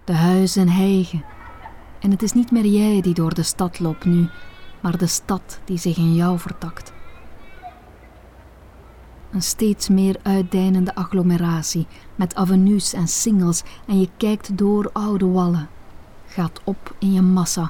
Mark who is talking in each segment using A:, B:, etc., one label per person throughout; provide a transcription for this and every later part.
A: De huizen hijgen. En het is niet meer jij die door de stad loopt nu, maar de stad die zich in jou vertakt. Een steeds meer uitdijnende agglomeratie met avenues en singels en je kijkt door oude wallen. Gaat op in je massa.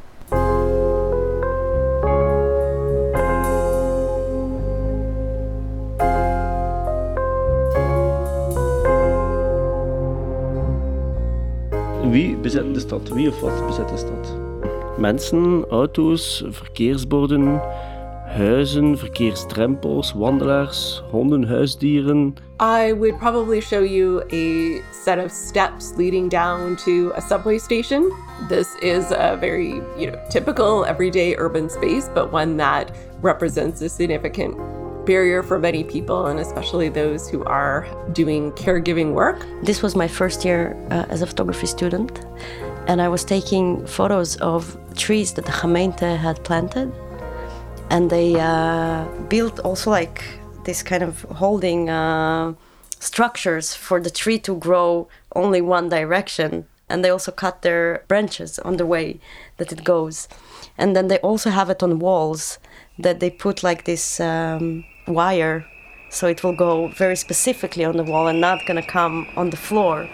B: Wie bezet de stad? Wie of wat bezet de stad? Mensen, auto's, verkeersborden, huizen, verkeersdrempels, wandelaars, honden, huisdieren.
C: I would probably show you a set of steps leading down to a subway station. This is a very, typical everyday urban space, but one that represents a significant barrier for many people, and especially those who are doing caregiving work.
D: This was my first year as a photography student, and I was taking photos of trees that the gemeente had planted. And they built also like this kind of holding structures for the tree to grow only one direction. And they also cut their branches on the way that it goes. And then they also have it on walls that they put like this wire, so it will go very specifically on the wall and not gonna come on the floor.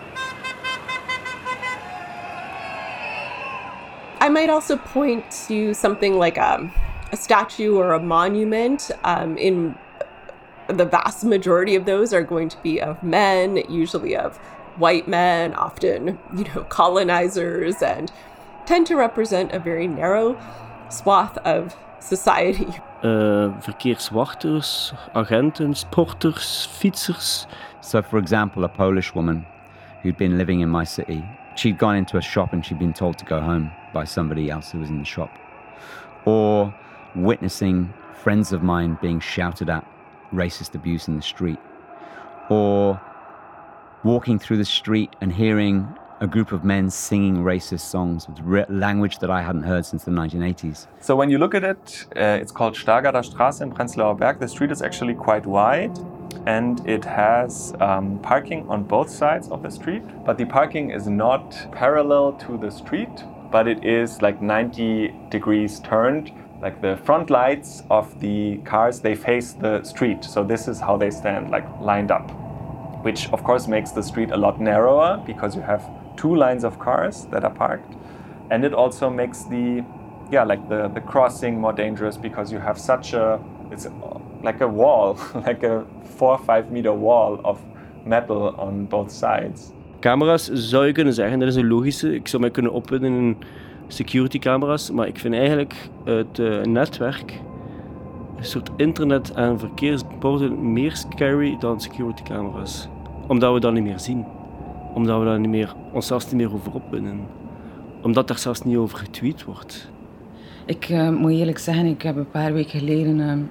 C: I might also point to something like a statue or a monument. In the vast majority of those are going to be of men, usually of white men, often, colonizers, and tend to represent a very narrow swath of society.
B: Verkeerswachters, agenten, sporters, fietsers.
E: So, for example, a Polish woman who'd been living in my city, she'd gone into a shop and she'd been told to go home by somebody else who was in the shop. Or witnessing friends of mine being shouted at, racist abuse in the street. Or walking through the street and hearing a group of men singing racist songs with language that I hadn't heard since the 1980s.
F: So when you look at it, it's called Stargarder Straße in Prenzlauer Berg. The street is actually quite wide and it has parking on both sides of the street. But the parking is not parallel to the street, but it is like 90 degrees turned. Like the front lights of the cars, they face the street. So this is how they stand, like lined up, which of course makes the street a lot narrower because you have two lines of cars that are parked. And it also makes the crossing more dangerous because you have it's like a wall, like a 4 or 5 meter wall of metal on both sides.
B: Camera's zou je kunnen zeggen, dat is een logische. Ik zou mij kunnen opwinden in security camera's, maar ik vind eigenlijk het netwerk, een soort internet en verkeersborden meer scary dan security camera's. Omdat we dat niet meer zien. Omdat we daar ons zelfs niet meer over opwinden. Omdat daar zelfs niet over getweet wordt.
G: Ik moet eerlijk zeggen, ik heb een paar weken geleden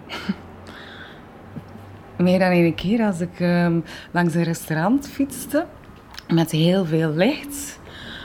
G: meer dan één keer als ik langs een restaurant fietste met heel veel licht.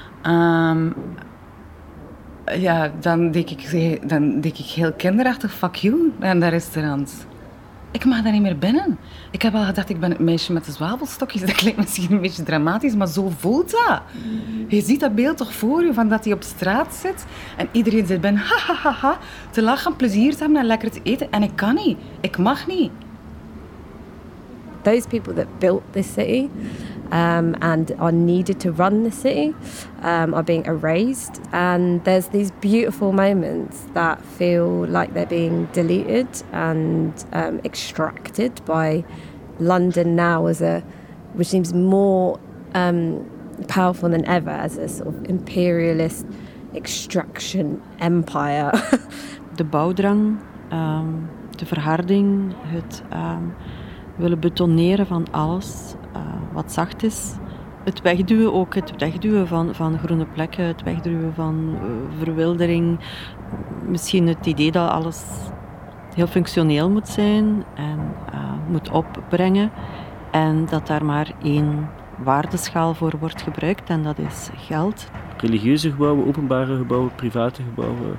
G: Dan denk ik heel kinderachtig, fuck you, aan dat restaurant. Ik mag daar niet meer binnen. Ik heb al gedacht, ik ben het meisje met de zwavelstokjes. Dat klinkt misschien een beetje dramatisch, maar zo voelt dat. Je ziet dat beeld toch voor je, van dat hij op straat zit en iedereen zit binnen, ha, te lachen, plezier te hebben en lekker te eten. En ik kan niet. Ik mag niet.
H: Those people that built this city and are needed to run the city are being erased. And there's these beautiful moments that feel like they're being deleted and extracted by London now which seems more powerful than ever as a sort of imperialist extraction empire.
I: De bouwdrang, de verharding, het willen betoneren van alles wat zacht is. Het wegduwen van groene plekken, het wegduwen van verwildering. Misschien het idee dat alles heel functioneel moet zijn en moet opbrengen. En dat daar maar één waardeschaal voor wordt gebruikt en dat is geld.
B: Religieuze gebouwen, openbare gebouwen, private gebouwen.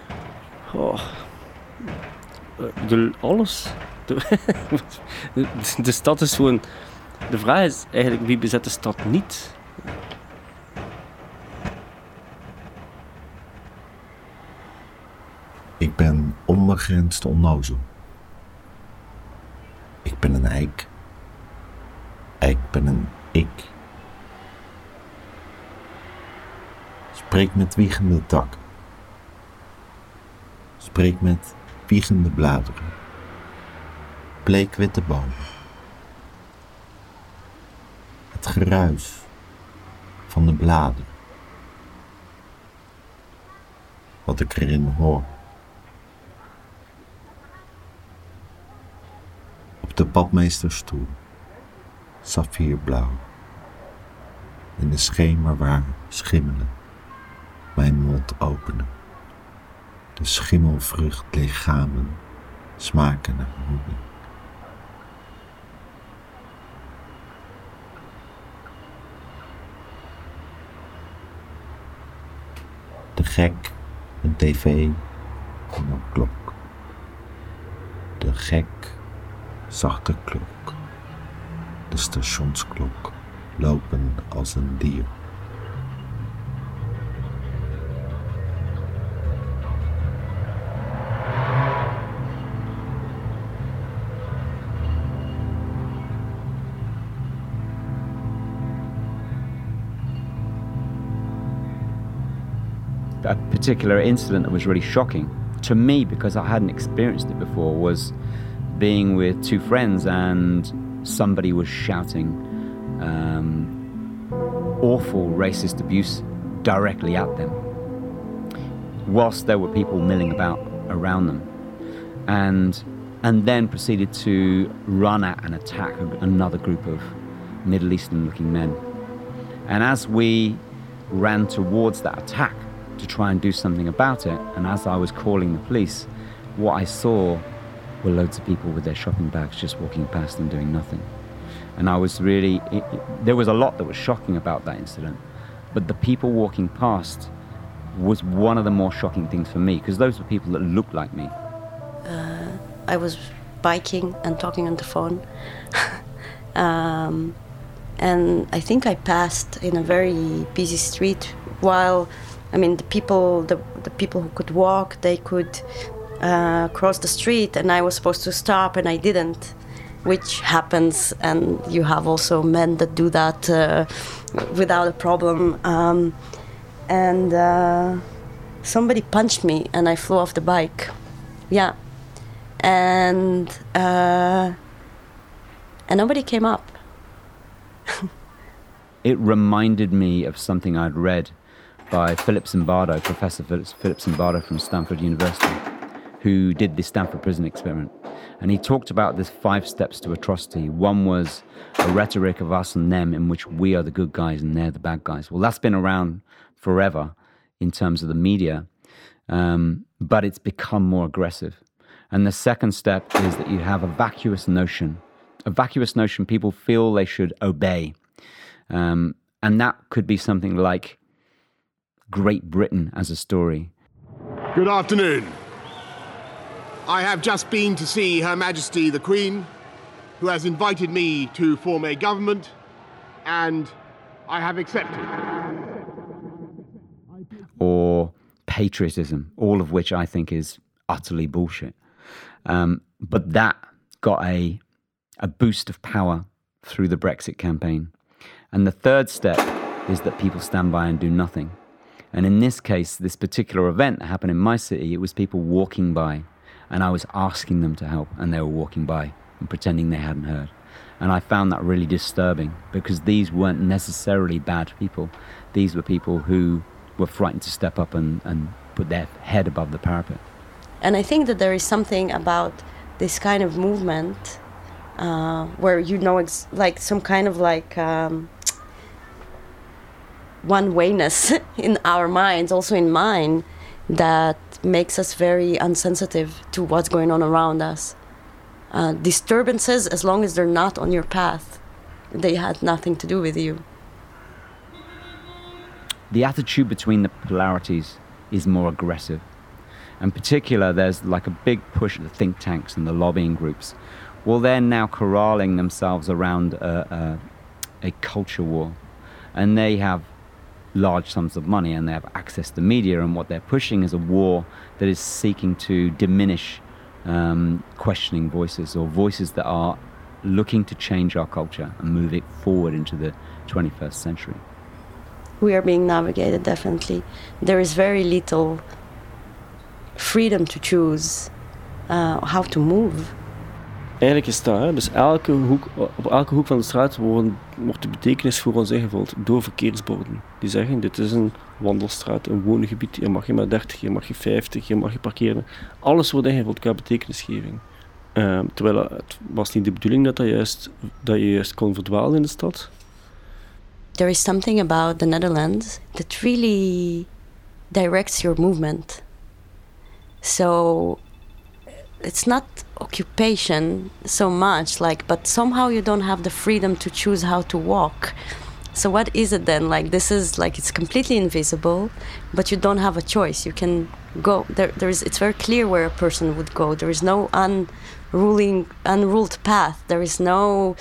B: Alles. De stad is gewoon... De vraag is eigenlijk, wie bezet de stad niet?
J: ben onbegrensd onnozel. Ik ben een eik. Ik ben een ik. Spreek met wiegende takken. Spreek met wiegende bladeren. Bleekwitte bomen. Het geruis van de bladeren. Wat ik erin hoor. Op de badmeesterstoel, saffierblauw. In de schemerware schimmelen, mijn mond openen. De schimmelvruchtlichamen smaken naar honing. De gek, een tv en een klok. De gek, zachte klok. De stationsklok, lopen als een dier.
E: A particular incident that was really shocking to me because I hadn't experienced it before was being with two friends and somebody was shouting awful racist abuse directly at them whilst there were people milling about around them and then proceeded to run at and attack another group of Middle Eastern looking men. And as we ran towards that attack to try and do something about it, and as I was calling the police, what I saw were loads of people with their shopping bags just walking past and doing nothing. And I was really, there was a lot that was shocking about that incident, but the people walking past was one of the more shocking things for me, because those were people that looked like me.
D: I was biking and talking on the phone. And I think I passed in a very busy street while, I mean, the people who could walk, they could cross the street, and I was supposed to stop and I didn't, which happens, and you have also men that do that without a problem. And somebody punched me and I flew off the bike. Yeah. And nobody came up.
E: It reminded me of something I'd read by Philip Zimbardo, Professor Philip Zimbardo from Stanford University, who did the Stanford Prison Experiment. And he talked about this 5 steps to atrocity. One was a rhetoric of us and them in which we are the good guys and they're the bad guys. Well, that's been around forever in terms of the media, but it's become more aggressive. And the second step is that you have a vacuous notion. A vacuous notion people feel they should obey. And that could be something like Great Britain as a story.
K: Good afternoon. I have just been to see Her Majesty the Queen, who has invited me to form a government, and I have accepted.
E: Or patriotism, all of which I think is utterly bullshit. But that got a boost of power through the Brexit campaign. And the third step is that people stand by and do nothing. And in this case, this particular event that happened in my city, it was people walking by, and I was asking them to help, and they were walking by and pretending they hadn't heard. And I found that really disturbing, because these weren't necessarily bad people. These were people who were frightened to step up and put their head above the parapet.
D: And I think that there is something about this kind of movement where, you know, like some kind of like one-wayness in our minds, also in mine, that makes us very insensitive to what's going on around us. Disturbances, as long as they're not on your path, they had nothing to do with you.
E: The attitude between the polarities is more aggressive. In particular, there's like a big push at the think tanks and the lobbying groups. Well, they're now corralling themselves around a culture war. And they have large sums of money and they have access to media, and what they're pushing is a war that is seeking to diminish questioning voices, or voices that are looking to change our culture and move it forward into the 21st century.
D: We are being navigated, definitely. There is very little freedom to choose how to move.
B: Eigenlijk is dat, hè? Dus op elke hoek van de straat wordt de betekenis voor ons ingevuld door verkeersborden. Die zeggen, dit is een wandelstraat, een woongebied, hier mag je maar 30, hier mag je 50, hier mag je parkeren. Alles wordt ingevuld qua betekenisgeving. Terwijl het was niet de bedoeling dat je juist kon verdwalen in de stad.
D: There is something about the Netherlands that really directs your movement. So it's not occupation so much, but somehow you don't have the freedom to choose how to walk. So what is it then? This is it's completely invisible, but you don't have a choice. You can go it's very clear where a person would go. There is no unruled path. There is no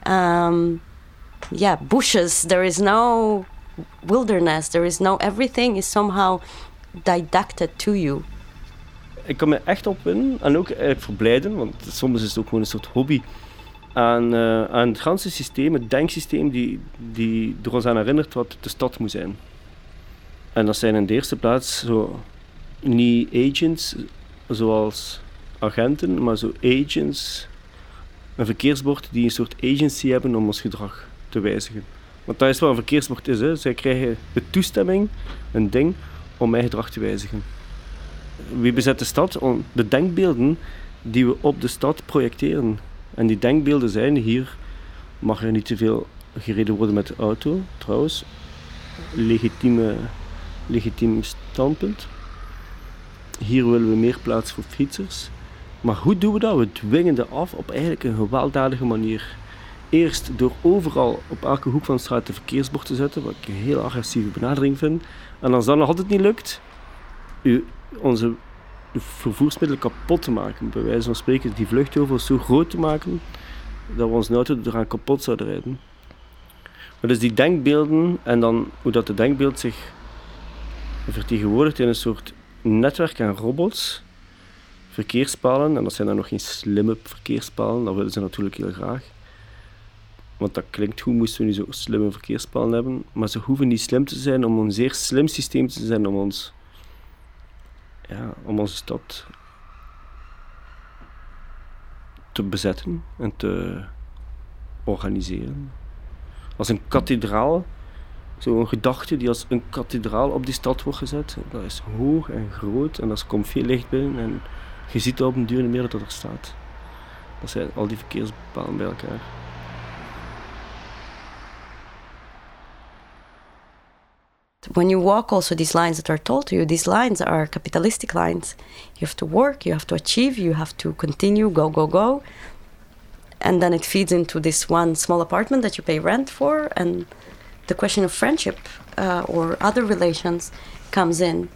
D: bushes. There is no wilderness. There is no, everything is somehow didacted to you.
B: Ik kan me echt opwinden en ook eigenlijk verblijden, want soms is het ook gewoon een soort hobby, aan het hele systeem, het denksysteem die er ons aan herinnert wat de stad moet zijn. En dat zijn in de eerste plaats zo niet agents zoals agenten, maar zo agents, een verkeersbord die een soort agency hebben om ons gedrag te wijzigen. Want dat is wat een verkeersbord is, hè. Zij krijgen de toestemming, een ding, om mijn gedrag te wijzigen. Wie bezet de stad? De denkbeelden die we op de stad projecteren. En die denkbeelden zijn, hier mag er niet te veel gereden worden met de auto, trouwens. Legitiem standpunt. Hier willen we meer plaats voor fietsers. Maar hoe doen we dat? We dwingen dat af op eigenlijk een gewelddadige manier. Eerst door overal op elke hoek van de straat een verkeersbord te zetten, wat ik een heel agressieve benadering vind. En als dat nog altijd niet lukt, onze vervoersmiddelen kapot te maken. Bij wijze van spreken die vluchtheuvels zo groot te maken dat we onze auto eraan kapot zouden rijden. Maar dus die denkbeelden en dan hoe dat de denkbeeld zich vertegenwoordigt in een soort netwerk aan robots, verkeerspalen, en dat zijn dan nog geen slimme verkeerspalen, dat willen ze natuurlijk heel graag. Want dat klinkt goed, moesten we nu zo slimme verkeerspalen hebben, maar ze hoeven niet slim te zijn om een zeer slim systeem te zijn om onze stad te bezetten en te organiseren. Als een kathedraal, zo'n gedachte die als een kathedraal op die stad wordt gezet, dat is hoog en groot en er komt veel licht binnen en je ziet op een duur niet meer dat er staat. Dat zijn al die verkeerspalen bij elkaar.
D: When you walk also these lines that are told to you, these lines are capitalistic lines. You have to work, you have to achieve, you have to continue, go, go, go. And then it feeds into this one small apartment that you pay rent for, and the question of friendship or other relations comes in.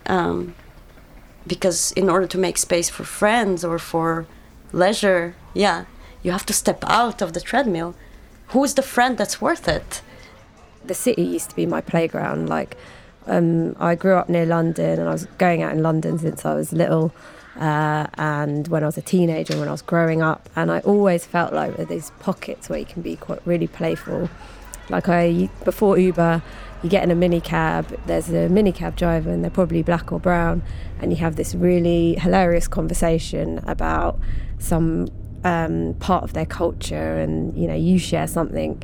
D: Because in order to make space for friends or for leisure, you have to step out of the treadmill. Who is the friend that's worth it?
H: The city used to be my playground. I grew up near London and I was going out in London since I was little, and when I was a teenager, when I was growing up, and I always felt like there are these pockets where you can be quite really playful. Before Uber, you get in a minicab, there's a minicab driver and they're probably black or brown, and you have this really hilarious conversation about some part of their culture, and you share something.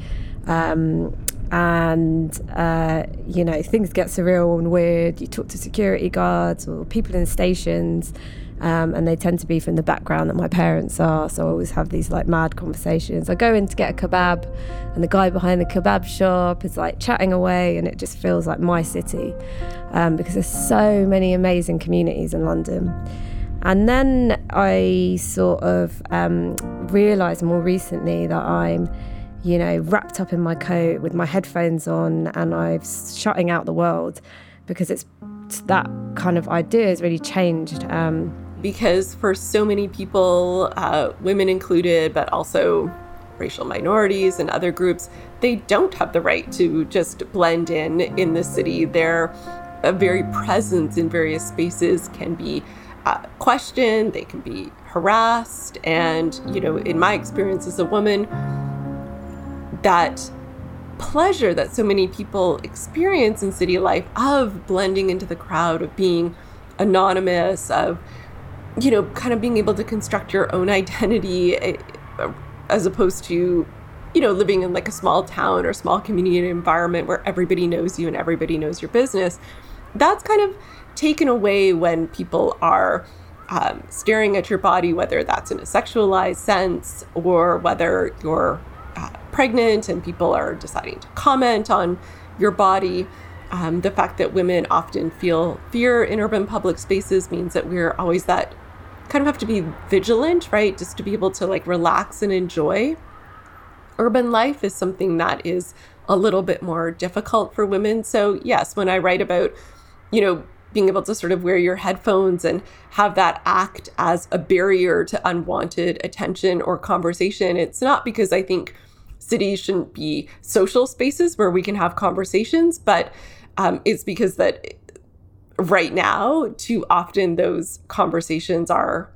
H: Things get surreal and weird. You talk to security guards or people in the stations, and they tend to be from the background that my parents are, so I always have these mad conversations. I go in to get a kebab and the guy behind the kebab shop is chatting away, and it just feels like my city, because there's so many amazing communities in London. And then I sort of realised more recently that I'm wrapped up in my coat with my headphones on, and I'm shutting out the world, because it's that kind of idea has really changed.
C: Because for so many people, women included, but also racial minorities and other groups, they don't have the right to just blend in the city. Their very presence in various spaces can be questioned, they can be harassed. And, you know, in my experience as a woman, that pleasure that so many people experience in city life of blending into the crowd, of being anonymous, of, you know, kind of being able to construct your own identity as opposed to, you know, living in like a small town or small community environment where everybody knows you and everybody knows your business. That's kind of taken away when people are staring at your body, whether that's in a sexualized sense or whether you're pregnant and people are deciding to comment on your body. The fact that women often feel fear in urban public spaces means that we're always that kind of have to be vigilant, right? Just to be able to like relax and enjoy. Urban life is something that is a little bit more difficult for women. So yes, when I write about, you know, being able to sort of wear your headphones and have that act as a barrier to unwanted attention or conversation, it's not because I think cities shouldn't be social spaces where we can have conversations, but it's because that right now, too often those conversations are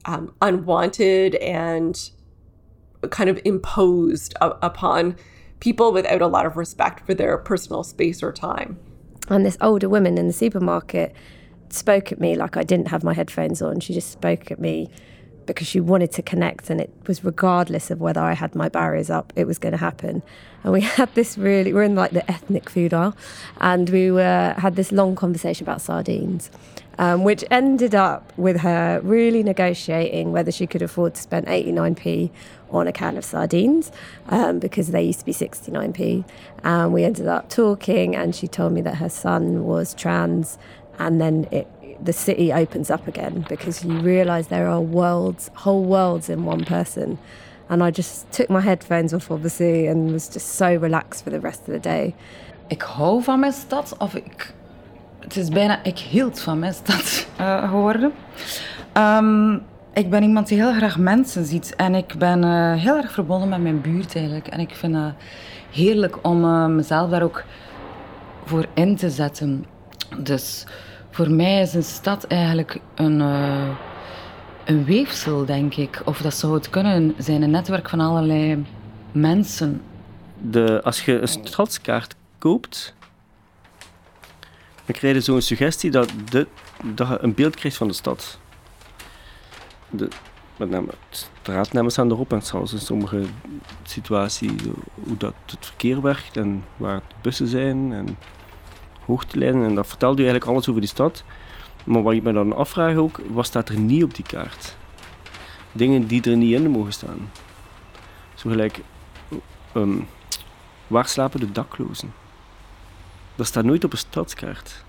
C: unwanted and kind of imposed upon people without a lot of respect for their personal space or time.
H: And this older woman in the supermarket spoke at me like I didn't have my headphones on. She just spoke at me because she wanted to connect, and it was regardless of whether I had my barriers up, it was going to happen. And we had this we're in like the ethnic food aisle, and we had this long conversation about sardines, which ended up with her really negotiating whether she could afford to spend 89p on a can of sardines, because they used to be 69p. And we ended up talking, and she told me that her son was trans, and then the city opens up again because you realise there are whole worlds in one person. And I just took my headphones off, obviously, and was just so relaxed for the rest of the day.
G: Ik hou van mijn stad, het is bijna, ik hield van mijn stad geworden. Ik ben iemand die heel graag mensen ziet en ik ben heel erg verbonden met mijn buurt eigenlijk. En ik vind het heerlijk om mezelf daar ook voor in te zetten. Dus voor mij is een stad eigenlijk een weefsel, denk ik. Of dat zou het kunnen zijn, een netwerk van allerlei mensen.
B: Als je een stadskaart koopt, dan krijg je zo'n suggestie dat je een beeld krijgt van de stad. Met name straatnamen staan erop en zelfs in sommige situaties hoe dat het verkeer werkt en waar de bussen zijn en hoogtelijnen. En dat vertelt u eigenlijk alles over die stad. Maar wat ik me dan afvraag ook, wat staat er niet op die kaart? Dingen die er niet in mogen staan. Zo gelijk, waar slapen de daklozen? Dat staat nooit op een stadskaart.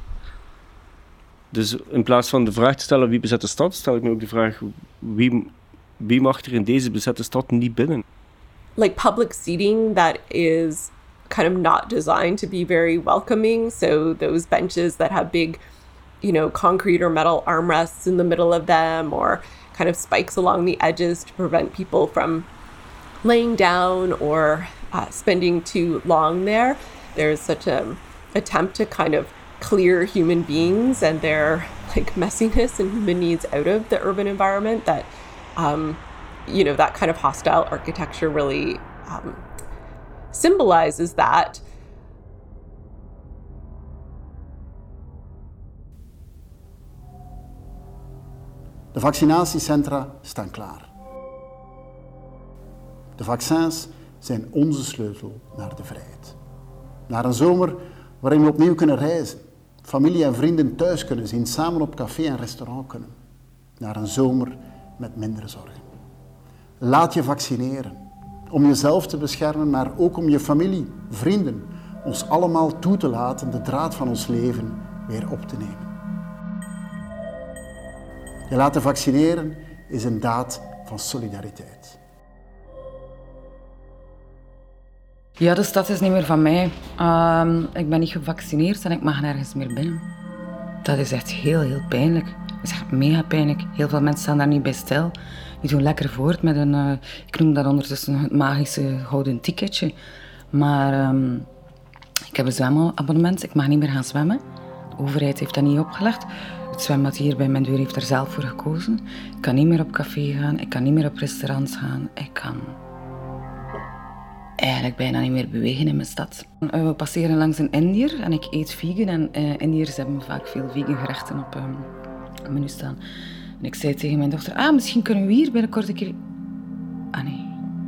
B: Dus in plaats van de vraag te stellen wie bezet de stad, stel ik me ook de vraag wie mag er in deze bezette stad niet binnen?
C: Like public seating that is kind of not designed to be very welcoming. So those benches that have big, you know, concrete or metal armrests in the middle of them, or kind of spikes along the edges to prevent people from laying down or spending too long there. There's such an attempt to kind of clear human beings and their like messiness and human needs out of the urban environment that, you know, that kind of hostile architecture really symbolizes that.
L: De vaccinatiecentra staan klaar. De vaccins zijn onze sleutel naar de vrijheid. Naar een zomer waarin we opnieuw kunnen reizen, familie en vrienden thuis kunnen zien, samen op café en restaurant kunnen. Naar een zomer met minder zorgen. Laat je vaccineren. Om jezelf te beschermen, maar ook om je familie, vrienden, ons allemaal toe te laten de draad van ons leven weer op te nemen. Je laten vaccineren is een daad van solidariteit.
G: Ja, de stad is niet meer van mij. Ik ben niet gevaccineerd en ik mag nergens meer binnen. Dat is echt heel, heel pijnlijk. Dat is echt mega pijnlijk. Heel veel mensen staan daar niet bij stil. Die doen lekker voort met een, ik noem dat ondertussen het magische gouden ticketje. Maar ik heb een zwemabonnement, ik mag niet meer gaan zwemmen. De overheid heeft dat niet opgelegd. Het zwembad hier bij mijn deur heeft er zelf voor gekozen. Ik kan niet meer op café gaan, ik kan niet meer op restaurants gaan. Ik kan eigenlijk bijna niet meer bewegen in mijn stad. We passeren langs een Indiër en ik eet vegan. En Indiërs hebben vaak veel vegan gerechten op het menu staan. En ik zei tegen mijn dochter, misschien kunnen we hier binnenkort een keer... nee.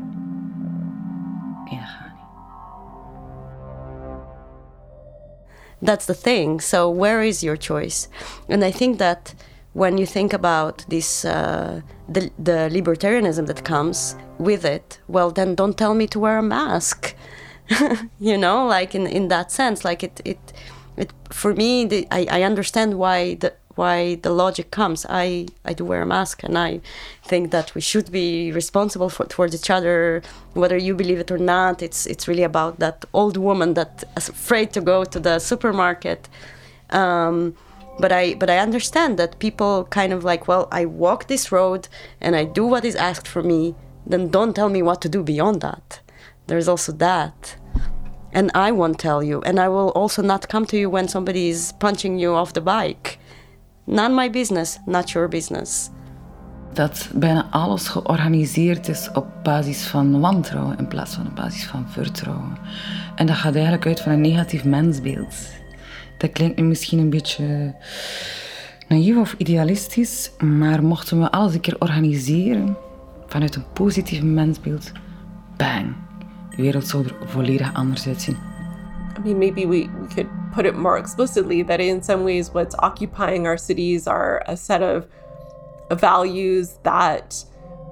G: Nee, dat gaat niet.
D: That's the thing. So where is your choice? And I think that when you think about this, the libertarianism that comes with it, well, then don't tell me to wear a mask. You know, like in that sense, like it for me, I understand why the logic comes. I do wear a mask, and I think that we should be responsible towards each other, whether you believe it or not. It's really about that old woman that is afraid to go to the supermarket. But I understand that people kind of like, well, I walk this road and I do what is asked for me. Then don't tell me what to do beyond that. There's also that. And I won't tell you. And I will also not come to you when somebody is punching you off the bike. Not my business, not your business.
G: Dat bijna alles georganiseerd is op basis van wantrouwen in plaats van op basis van vertrouwen. En dat gaat eigenlijk uit van een negatief mensbeeld. Dat klinkt nu misschien een beetje naïef of idealistisch, maar mochten we alles een keer organiseren vanuit een positief mensbeeld, bang, de wereld zou er volledig anders uitzien.
C: I mean, maybe we could put it more explicitly that in some ways what's occupying our cities are a set of values that,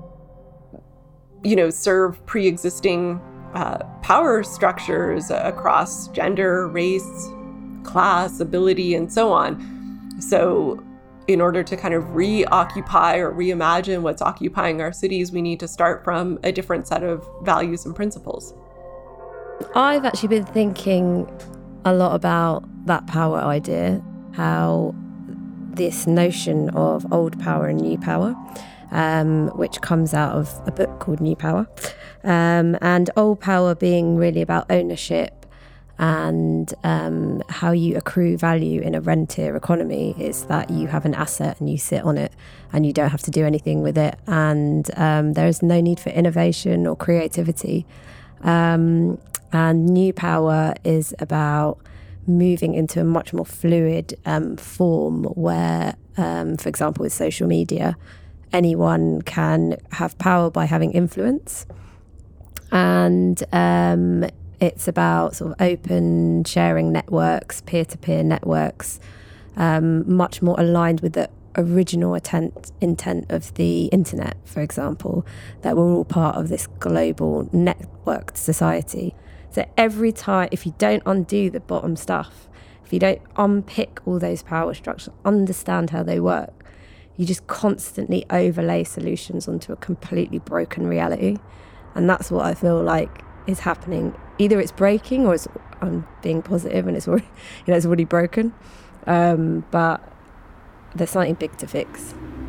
C: you know, serve pre-existing power structures across gender, race, class, ability, and so on. So in order to kind of reoccupy or reimagine what's occupying our cities, we need to start from a different set of values and principles.
H: I've actually been thinking a lot about that power idea, how this notion of old power and new power, which comes out of a book called New Power, and old power being really about ownership and how you accrue value in a rentier economy is that you have an asset and you sit on it and you don't have to do anything with it, and there is no need for innovation or creativity. And new power is about moving into a much more fluid form where, for example, with social media, anyone can have power by having influence. And it's about sort of open sharing networks, peer-to-peer networks, much more aligned with the original intent of the internet, for example, that we're all part of this global networked society. So every time, if you don't undo the bottom stuff, if you don't unpick all those power structures, understand how they work, you just constantly overlay solutions onto a completely broken reality. And that's what I feel like is happening. Either it's breaking or I'm being positive and it's already, it's already broken. But there's something big to fix.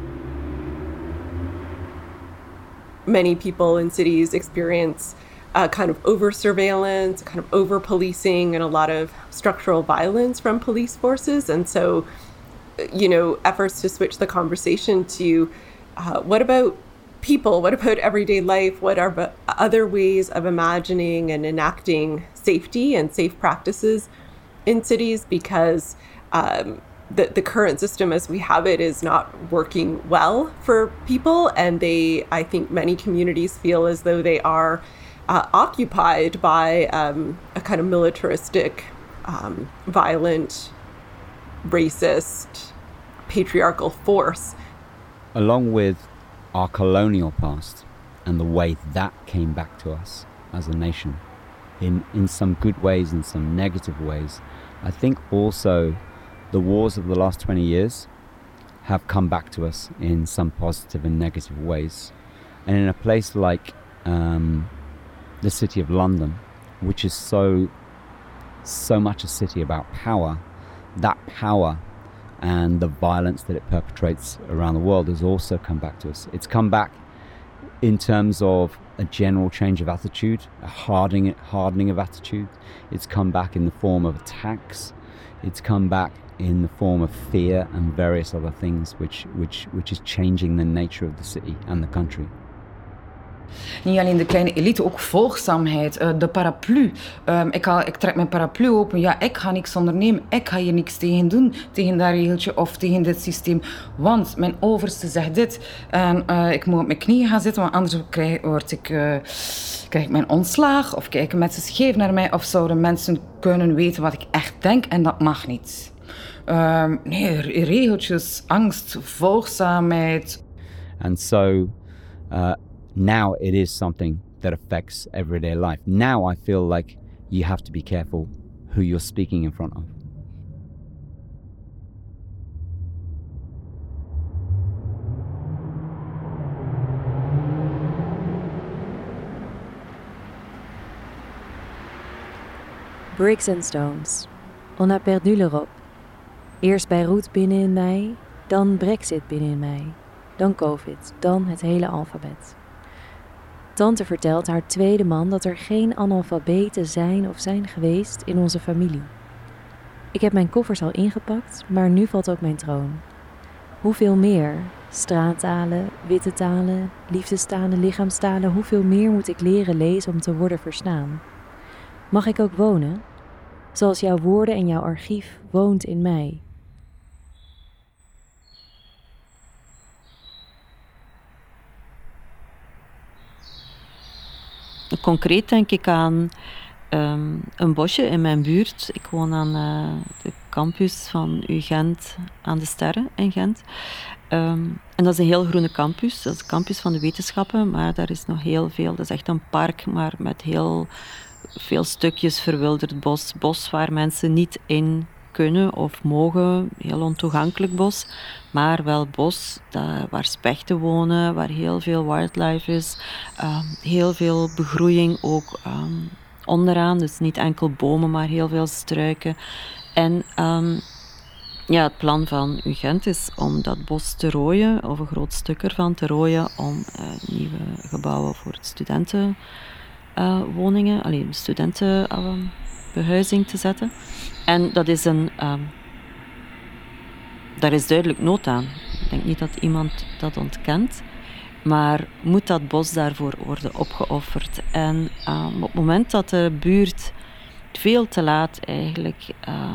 C: Many people in cities experience kind of over-surveillance, kind of over-policing, and a lot of structural violence from police forces. And so, efforts to switch the conversation to what about people? What about everyday life? What are other ways of imagining and enacting safety and safe practices in cities? Because the current system as we have it is not working well for people. And I think many communities feel as though they are occupied by a kind of militaristic, violent, racist, patriarchal force.
E: Along with our colonial past and the way that came back to us as a nation, in some good ways and some negative ways, I think also the wars of the last 20 years have come back to us in some positive and negative ways. And in a place like the city of London, which is so much a city about power, that power and the violence that it perpetrates around the world has also come back to us. It's come back in terms of a general change of attitude, a hardening of attitude. It's come back in the form of attacks. It's come back in the form of fear and various other things, which is changing the nature of the city and the country.
G: Niet alleen de kleine elite, ook volgzaamheid, de paraplu. Ik trek mijn paraplu open, ja, ik ga niks ondernemen. Ik ga hier niks tegen doen, tegen dat regeltje of tegen dit systeem. Want mijn overste zegt dit en ik moet op mijn knieën gaan zitten, want anders krijg ik mijn ontslag of kijken mensen scheef naar mij of zouden mensen kunnen weten wat ik echt denk en dat mag niet. Nee, regeltjes, angst, volgzaamheid.
E: And so now it is something that affects everyday life. Now I feel like you have to be careful who you're speaking in front of.
M: Bricks and stones. On a perdu l'Europe. Eerst Beirut binnenin mij, dan Brexit binnenin mij, dan COVID, dan het hele alfabet. Tante vertelt haar tweede man dat er geen analfabeten zijn of zijn geweest in onze familie. Ik heb mijn koffers al ingepakt, maar nu valt ook mijn troon. Hoeveel meer? Straattalen, witte talen, liefdestalen, lichaamstalen. Hoeveel meer moet ik leren lezen om te worden verstaan? Mag ik ook wonen? Zoals jouw woorden en jouw archief woont in mij.
I: Concreet denk ik aan een bosje in mijn buurt. Ik woon aan de campus van UGent aan de Sterren in Gent. En dat is een heel groene campus. Dat is de campus van de wetenschappen, maar daar is nog heel veel. Dat is echt een park, maar met heel veel stukjes verwilderd bos. Bos waar mensen niet in kunnen of mogen. Heel ontoegankelijk bos. Maar wel bos waar spechten wonen, waar heel veel wildlife is. Heel veel begroeiing ook onderaan. Dus niet enkel bomen, maar heel veel struiken. En het plan van UGent is om dat bos te rooien, of een groot stuk ervan te rooien, om nieuwe gebouwen voor studentenwoningen, studentenbehuizing te zetten. En dat is daar is duidelijk nood aan. Ik denk niet dat iemand dat ontkent. Maar moet dat bos daarvoor worden opgeofferd? En op het moment dat de buurt veel te laat eigenlijk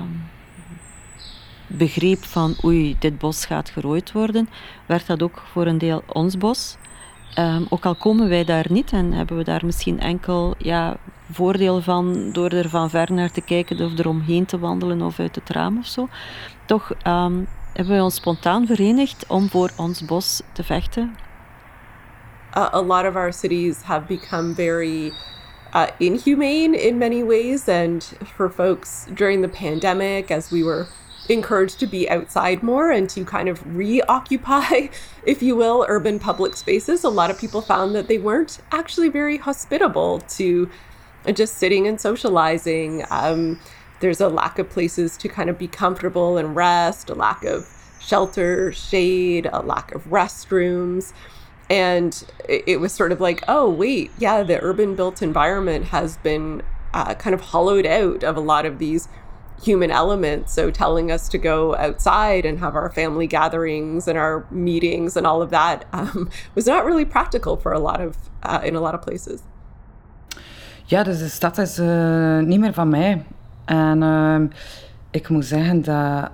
I: begreep van oei, dit bos gaat gerooid worden, werd dat ook voor een deel ons bos. Ook al komen wij daar niet en hebben we daar misschien enkel voordeel van door er van ver naar te kijken of er omheen te wandelen of uit het raam of zo. Toch hebben we ons spontaan verenigd om voor ons bos te vechten.
C: A lot of our cities have become very inhumane in many ways, and for folks during the pandemic, as we were encouraged to be outside more and to kind of reoccupy, if you will, urban public spaces, a lot of people found that they weren't actually very hospitable to just sitting and socializing. There's a lack of places to kind of be comfortable and rest, a lack of shelter, shade, a lack of restrooms. And it was sort of like, oh, wait, yeah, the urban built environment has been kind of hollowed out of a lot of these human elements. So telling us to go outside and have our family gatherings and our meetings and all of that was not really practical for in a lot of places.
G: Ja, dus de stad is niet meer van mij. En ik moet zeggen dat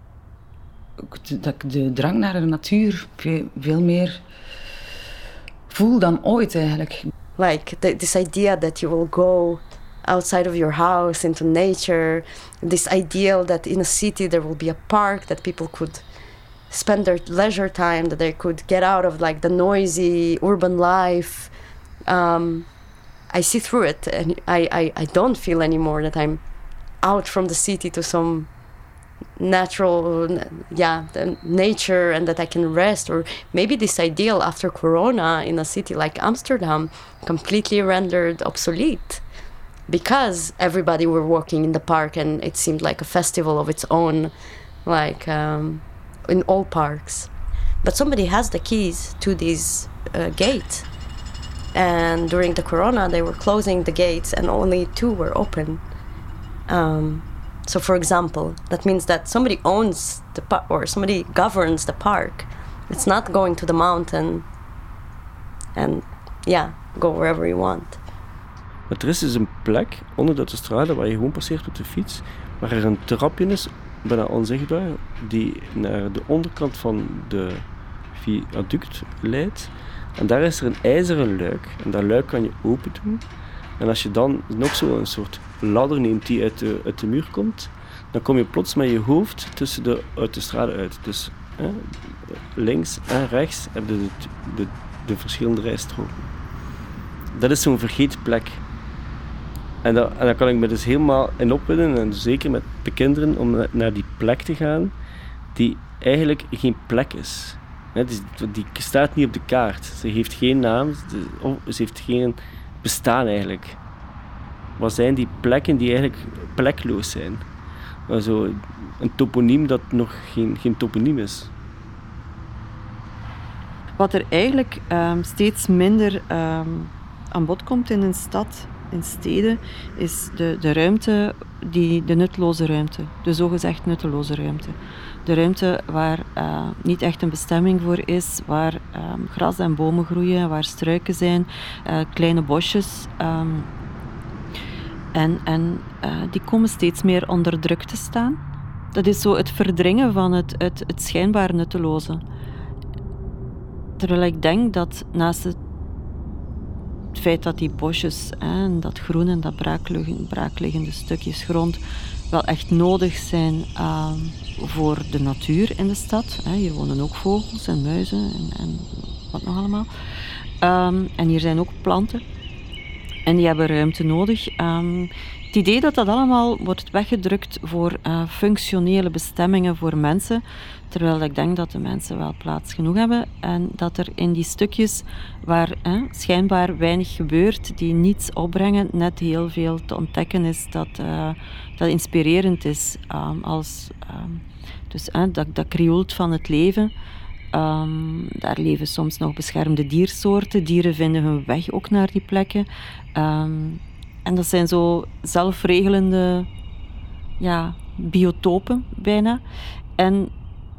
G: ik de drang naar de natuur veel meer voel dan ooit eigenlijk.
D: Like this idea that you will go outside of your house into nature, this ideal that in a city there will be a park that people could spend their leisure time, that they could get out of like the noisy urban life. I see through it, and I don't feel anymore that I'm out from the city to some natural nature and that I can rest. Or maybe this ideal after Corona in a city like Amsterdam completely rendered obsolete because everybody were walking in the park and it seemed like a festival of its own. like in all parks. But somebody has the keys to these gates. And during the corona, they were closing the gates and only 2 were open. So for example, that means that somebody owns the park or somebody governs the park. It's not going to the mountain and go wherever you want.
B: Maar er is dus een plek onder de autostrade waar je gewoon passeert met de fiets, waar er een trapje is, bijna onzichtbaar, die naar de onderkant van de viaduct leidt. En daar is er een ijzeren luik. En dat luik kan je open doen. En als je dan nog zo een soort ladder neemt die uit de muur komt, dan kom je plots met je hoofd tussen de autostrade uit. Dus links en rechts heb je de verschillende rijstroken. Dat is zo'n vergeten plek. En daar kan ik me dus helemaal in opwinden, en zeker met de kinderen, om naar die plek te gaan, die eigenlijk geen plek is. Die staat niet op de kaart. Ze heeft geen naam, ze heeft geen bestaan eigenlijk. Wat zijn die plekken die eigenlijk plekloos zijn? Also, een toponiem dat nog geen toponiem is.
I: Wat er eigenlijk steeds minder aan bod komt in een stad, in steden, is de ruimte, de nutteloze ruimte. De zogezegd nutteloze ruimte. De ruimte waar niet echt een bestemming voor is, waar gras en bomen groeien, waar struiken zijn, kleine bosjes. En die komen steeds meer onder druk te staan. Dat is zo het verdringen van het schijnbaar nutteloze. Terwijl ik denk dat naast het feit dat die bosjes en dat groen en dat braakliggende stukjes grond wel echt nodig zijn voor de natuur in de stad. Hier wonen ook vogels en muizen en wat nog allemaal. En hier zijn ook planten. En die hebben ruimte nodig. Het idee dat allemaal wordt weggedrukt voor functionele bestemmingen voor mensen, terwijl ik denk dat de mensen wel plaats genoeg hebben en dat er in die stukjes waar schijnbaar weinig gebeurt, die niets opbrengen, net heel veel te ontdekken is dat inspirerend is. Dus dat krioelt van het leven. Daar leven soms nog beschermde diersoorten. Dieren vinden hun weg ook naar die plekken. En dat zijn zo zelfregelende biotopen bijna. En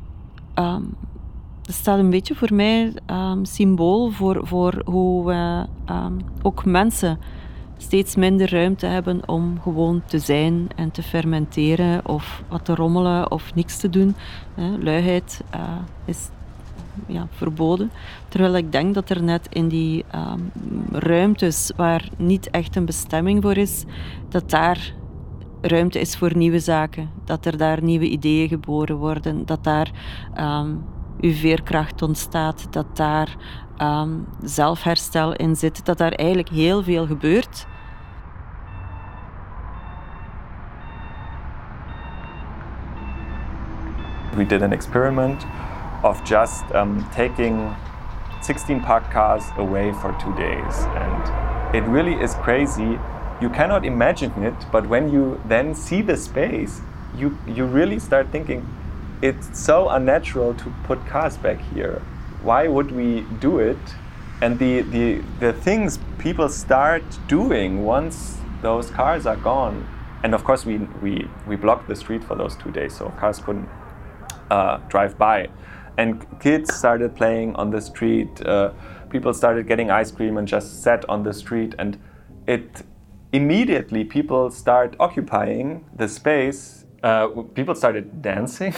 I: dat staat een beetje voor mij symbool voor hoe we ook mensen steeds minder ruimte hebben om gewoon te zijn en te fermenteren of wat te rommelen of niks te doen. Luiheid is verboden. Terwijl ik denk dat er net in die ruimtes waar niet echt een bestemming voor is, dat daar ruimte is voor nieuwe zaken. Dat er daar nieuwe ideeën geboren worden. Dat daar uw veerkracht ontstaat. Dat daar zelfherstel in zit. Dat daar eigenlijk heel veel gebeurt.
F: We did an experiment of just taking 16 parked cars away for 2 days, and it really is crazy. You cannot imagine it, but when you then see the space, you really start thinking, it's so unnatural to put cars back here. Why would we do it? And the things people start doing once those cars are gone. And of course we blocked the street for those 2 days, so cars couldn't drive by. And kids started playing on the street, people started getting ice cream and just sat on the street, and it immediately people start occupying the space. People started dancing.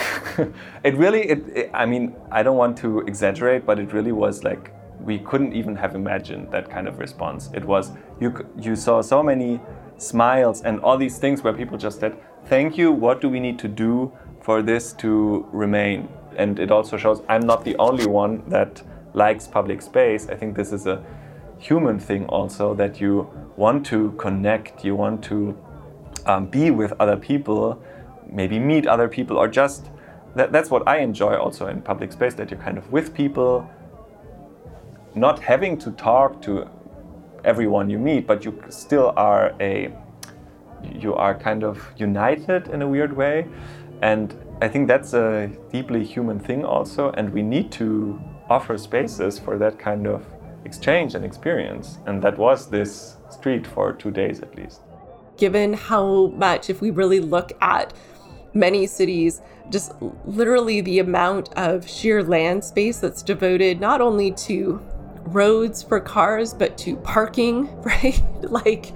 F: I mean, I don't want to exaggerate, but it really was like, we couldn't even have imagined that kind of response. It was, you saw so many smiles and all these things where people just said, thank you, what do we need to do for this to remain? And it also shows I'm not the only one that likes public space. I think this is a human thing also, that you want to connect, you want to be with other people, maybe meet other people, or just, that's what I enjoy also in public space, that you're kind of with people, not having to talk to everyone you meet, but you still are you are kind of united in a weird way. And I think that's a deeply human thing also, and we need to offer spaces for that kind of exchange and experience. And that was this street for 2 days at least.
C: Given how much, if we really look at many cities, just literally the amount of sheer land space that's devoted not only to roads for cars, but to parking, right? Like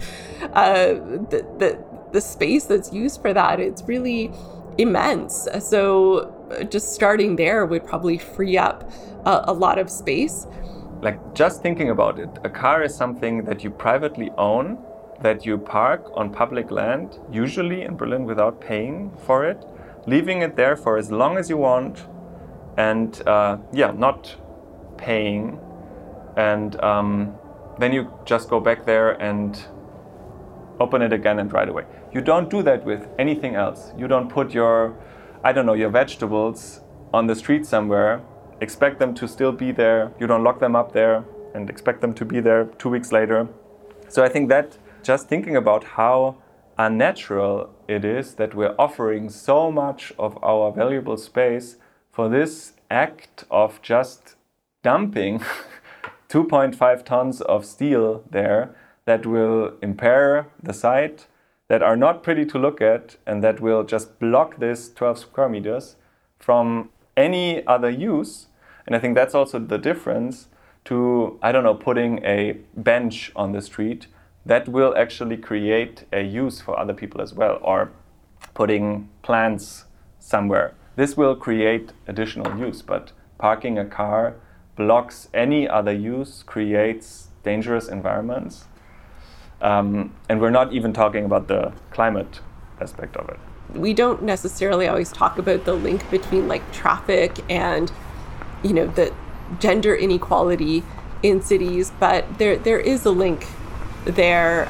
C: the space that's used for that, it's really immense. So just starting there would probably free up a lot of space.
F: Like, just thinking about it, a car is something that you privately own, that you park on public land, usually in Berlin without paying for it, leaving it there for as long as you want, and not paying. And then you just go back there and open it again and drive away. You don't do that with anything else. You don't put your vegetables on the street somewhere, expect them to still be there. You don't lock them up there and expect them to be there 2 weeks later. So I think that just thinking about how unnatural it is that we're offering so much of our valuable space for this act of just dumping 2.5 tons of steel there that will impair the site, that are not pretty to look at, and that will just block this 12 square meters from any other use. And I think that's also the difference to, putting a bench on the street that will actually create a use for other people as well, or putting plants somewhere. This will create additional use, but parking a car blocks any other use, creates dangerous environments. And we're not even talking about the climate aspect of it.
C: We don't necessarily always talk about the link between like traffic and, the gender inequality in cities, but there is a link there.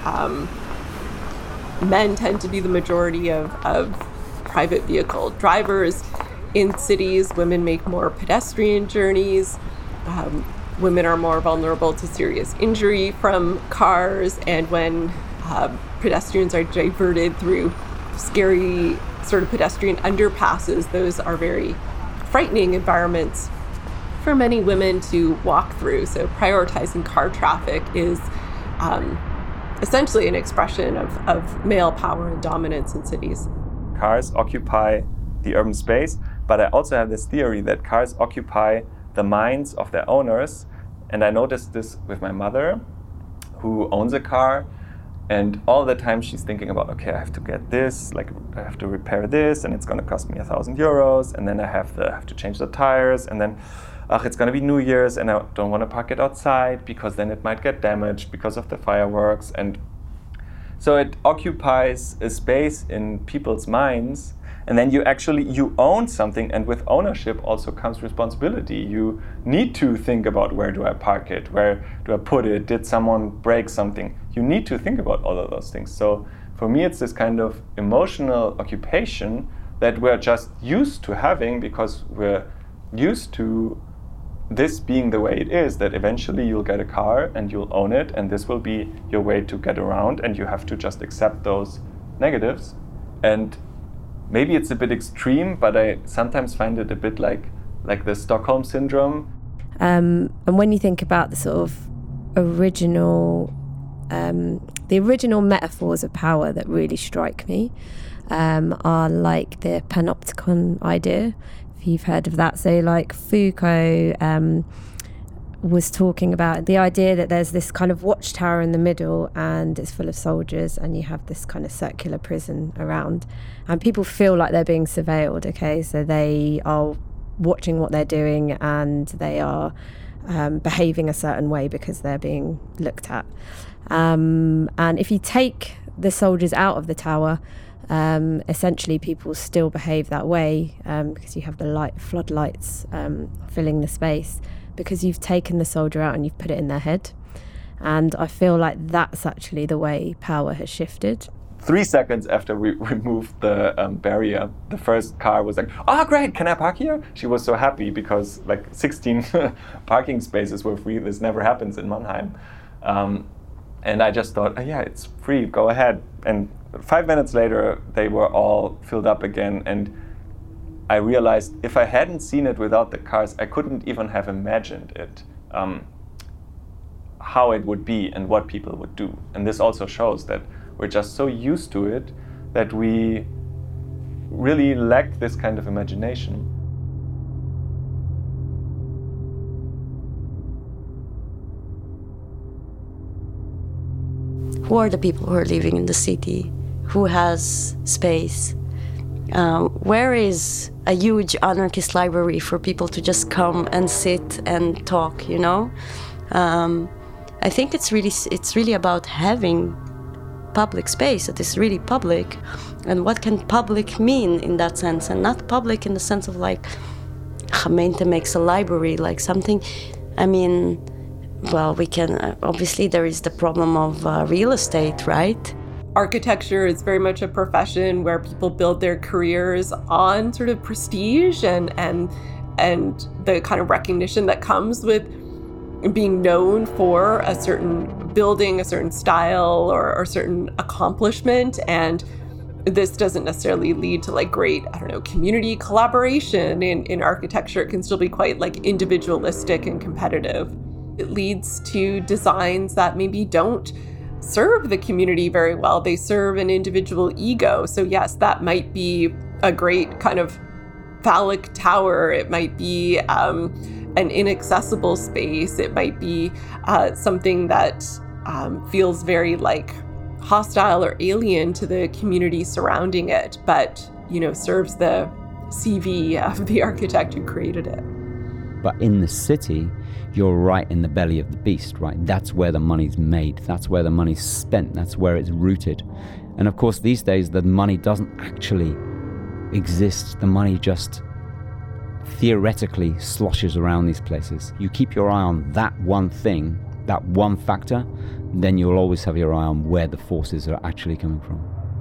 C: Men tend to be the majority of private vehicle drivers in cities. Women make more pedestrian journeys. Women are more vulnerable to serious injury from cars, and when pedestrians are diverted through scary sort of pedestrian underpasses, those are very frightening environments for many women to walk through. So prioritizing car traffic is essentially an expression of male power and dominance in cities.
F: Cars occupy the urban space, but I also have this theory that cars occupy the minds of their owners. And I noticed this with my mother, who owns a car, and all the time she's thinking about, okay, I have to get this, like I have to repair this, and it's going to cost me 1,000 euros, and then I have to change the tires, and then it's going to be New Year's, and I don't want to park it outside because then it might get damaged because of the fireworks. And so it occupies a space in people's minds. And then you own something, and with ownership also comes responsibility. You need to think about, where do I park it? Where do I put it? Did someone break something? You need to think about all of those things. So for me, it's this kind of emotional occupation that we're just used to having because we're used to this being the way it is, that eventually you'll get a car and you'll own it, and this will be your way to get around, and you have to just accept those negatives. And maybe it's a bit extreme, but I sometimes find it a bit like the Stockholm syndrome.
H: And when you think about the sort of original metaphors of power that really strike me are like the panopticon idea, if you've heard of that. So like Foucault was talking about the idea that there's this kind of watchtower in the middle and it's full of soldiers, and you have this kind of circular prison around, and people feel like they're being surveilled. Okay, so they are watching what they're doing, and they are behaving a certain way because they're being looked at. And if you take the soldiers out of the tower, essentially people still behave that way because you have the floodlights filling the space, because you've taken the soldier out and you've put it in their head. And I feel like that's actually the way power has shifted.
F: 3 seconds after we removed the barrier, the first car was like, "Oh, great, can I park here?" She was so happy because like 16 parking spaces were free. This never happens in Mannheim. And I just thought, yeah, it's free, go ahead. And 5 minutes later, they were all filled up again. And I realized if I hadn't seen it without the cars, I couldn't even have imagined it, how it would be and what people would do. And this also shows that we're just so used to it that we really lack this kind of imagination.
D: Who are the people who are living in the city? Who has space? Where is a huge anarchist library for people to just come and sit and talk, you know? I think it's really about having public space that is really public, and what can public mean in that sense, and not public in the sense of like Gemeente makes a library, like something, I mean, well, we can, obviously there is the problem of real estate, right?
C: Architecture is very much a profession where people build their careers on sort of prestige and the kind of recognition that comes with being known for a certain building, a certain style, or a certain accomplishment. And this doesn't necessarily lead to like great, I don't know, community collaboration in architecture. It can still be quite like individualistic and competitive. It leads to designs that maybe don't serve the community very well. They serve an individual ego. So yes, that might be a great kind of phallic tower. It might be an inaccessible space. It might be something that feels very like hostile or alien to the community surrounding it, but, you know, serves the CV of the architect who created it.
E: But in the city, you're right in the belly of the beast, right? That's where the money's made. That's where the money's spent. That's where it's rooted. And of course, these days, the money doesn't actually exist. The money just theoretically sloshes around these places. You keep your eye on that one thing, that one factor, then you'll always have your eye on where the forces are actually coming from.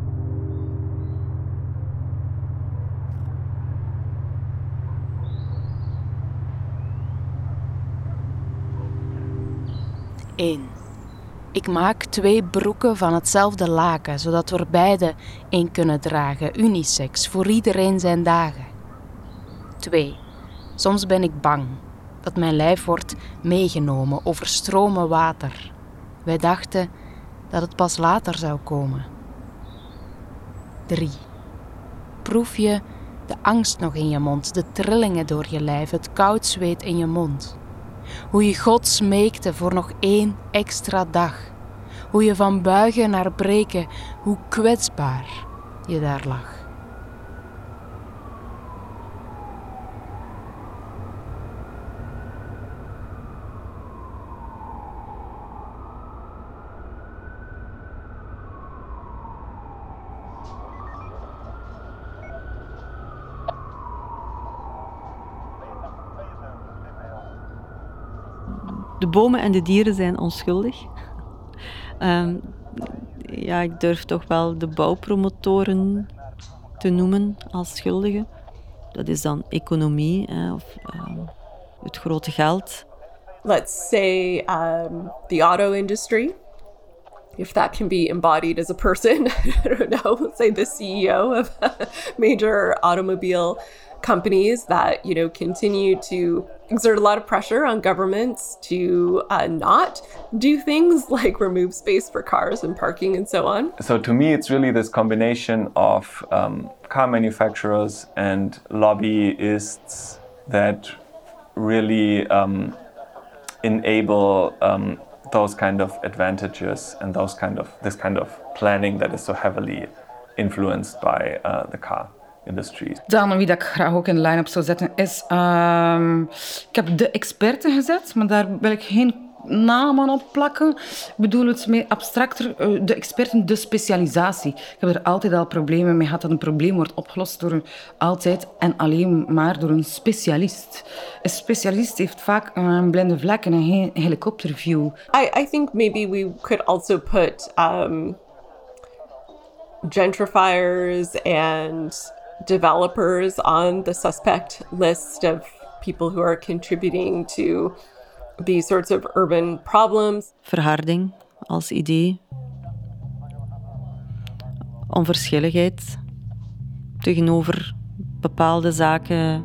N: Ik maak 2 broeken van hetzelfde laken, zodat we er beide één kunnen dragen, unisex, voor iedereen zijn dagen. 2. Soms ben ik bang dat mijn lijf wordt meegenomen over stromen water. Wij dachten dat het pas later zou komen. 3. Proef je de angst nog in je mond, de trillingen door je lijf, het koud zweet in je mond. Hoe je God smeekte voor nog 1 extra dag. Hoe je van buigen naar breken, hoe kwetsbaar je daar lag.
I: De bomen en de dieren zijn onschuldig. Ja, ik durf toch wel de bouwpromotoren te noemen als schuldigen. Dat is dan economie of het grote geld.
C: Let's say the auto industry, if that can be embodied as a person. I don't know, say the CEO of major automobile companies that, you know, continue to exert a lot of pressure on governments to not do things like remove space for cars and parking and so on.
F: So to me, it's really this combination of car manufacturers and lobbyists that really enable those kind of advantages and this kind of planning that is so heavily influenced by the car industry.
G: Dan wie dat ik graag ook in de line-up zou zetten is... ik heb de experten gezet, maar daar wil ik geen namen op plakken. Ik bedoel het meer abstracter. De experten, de specialisatie. Ik heb er altijd al problemen mee gehad dat een probleem wordt opgelost door altijd en alleen maar door een specialist. Een specialist heeft vaak een blinde vlek en een helikopterview.
C: I think maybe we could also put gentrifiers and developers on the suspect list of people who are contributing to these sorts of urban problems.
I: Verharding als idee. Onverschilligheid tegenover bepaalde zaken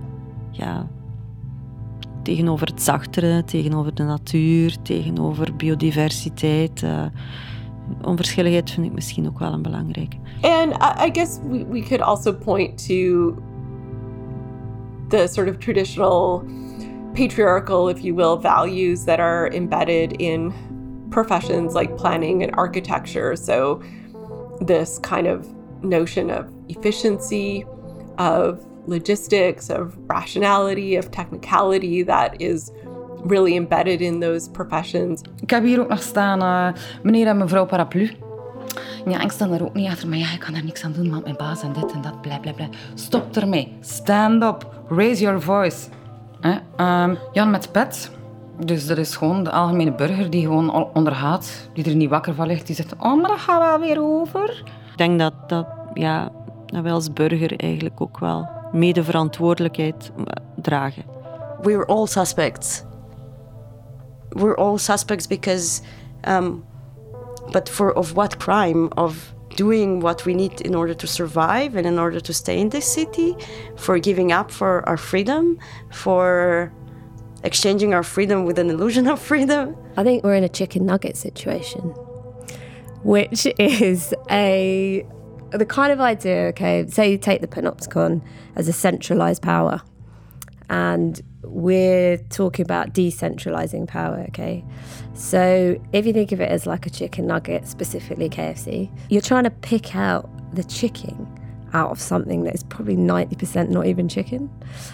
I: tegenover het zachtere, tegenover de natuur, tegenover biodiversiteit. Onverschilligheid vind ik misschien ook wel een belangrijke.
C: And I guess we could also point to the sort of traditional patriarchal, if you will, values that are embedded in professions like planning and architecture. So this kind of notion of efficiency, of logistics, of rationality, of technicality that is really embedded in those professions.
G: Ik heb hier ook nog staan, meneer en mevrouw Paraplu. Ja, ik sta er ook niet achter, maar ik kan er niks aan doen, want mijn baas en dit en dat, bla bla bla. Stop ermee. Stand up. Raise your voice. Jan met pet. Dus dat is gewoon de algemene burger die gewoon ondergaat, die er niet wakker van ligt, die zegt, oh, maar dat gaat wel weer over.
I: Ik denk dat wij als burger eigenlijk ook wel medeverantwoordelijkheid dragen.
D: We're all suspects. We're all suspects because, but of what crime? Of doing what we need in order to survive and in order to stay in this city, for giving up for our freedom, for exchanging our freedom with an illusion of freedom.
H: I think we're in a chicken nugget situation, which is the kind of idea, okay, say you take the Panopticon as a centralised power, and we're talking about decentralising power, okay? So if you think of it as like a chicken nugget, specifically KFC, you're trying to pick out the chicken out of something that is probably 90% not even chicken.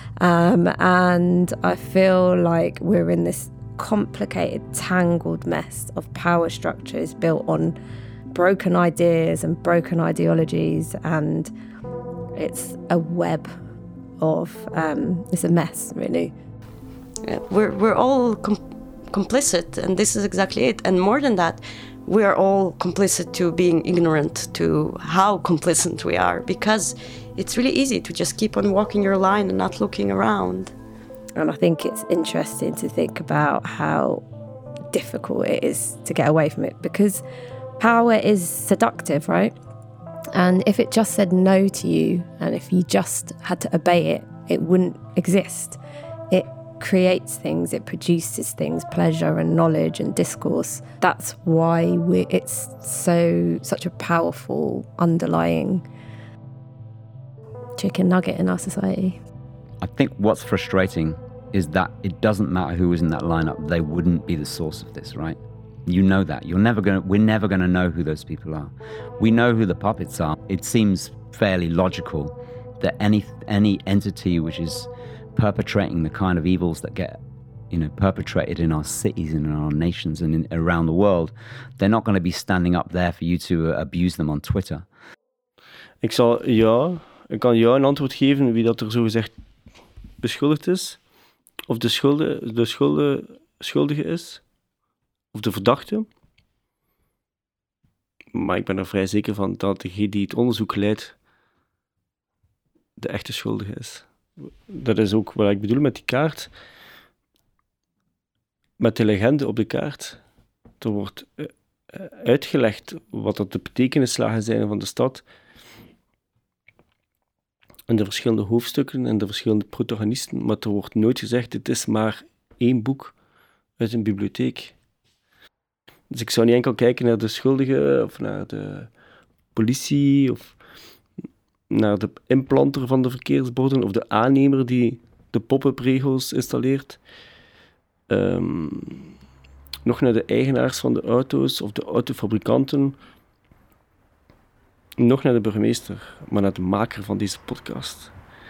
H: And I feel like we're in this complicated, tangled mess of power structures built on broken ideas and broken ideologies, and it's a web of it's a mess, really.
D: We're all complicit, and this is exactly it. And more than that, we are all complicit to being ignorant to how complicit we are, because it's really easy to just keep on walking your line and not looking around.
H: And I think it's interesting to think about how difficult it is to get away from it, because power is seductive, right? And if it just said no to you, and if you just had to obey it, it wouldn't exist. It creates things, it produces things, pleasure and knowledge and discourse. That's why it's such a powerful underlying chicken nugget in our society.
E: I think what's frustrating is that it doesn't matter who was in that lineup, they wouldn't be the source of this, right? You know that. We're never going to know who those people are. We know who the puppets are. It seems fairly logical that any entity which is perpetrating the kind of evils that get, perpetrated in our cities and in our nations and around the world, they're not going to be standing up there for you to abuse them on Twitter.
B: Ik kan jou een antwoord geven wie dat er zogezegd beschuldigd is, of de schuldige is, of de verdachte. Maar ik ben er vrij zeker van dat degene die het onderzoek leidt de echte schuldige is. Dat is ook wat ik bedoel met die kaart. Met de legende op de kaart. Er wordt uitgelegd wat dat de betekenislagen zijn van de stad. En de verschillende hoofdstukken en de verschillende protagonisten. Maar er wordt nooit gezegd, het is maar één boek uit een bibliotheek. Dus ik zou niet enkel kijken naar de schuldige of naar de politie of naar de implanter van de verkeersborden of de aannemer die de pop-up regels installeert. Nog naar de eigenaars van de auto's of de autofabrikanten. Nog naar de burgemeester, maar naar de maker van deze podcast.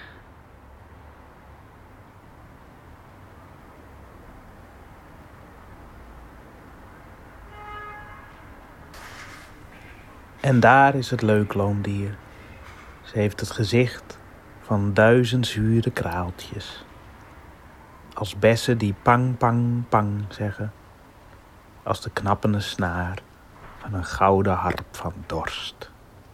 O: En daar is het leukloondier. Ze heeft het gezicht van 1000 zure kraaltjes. Als bessen die pang, pang, pang zeggen. Als de knappende snaar van een gouden harp van dorst.